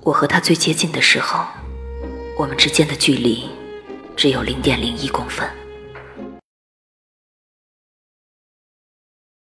我和他最接近的时候，我们之间的距离只有0.01公分。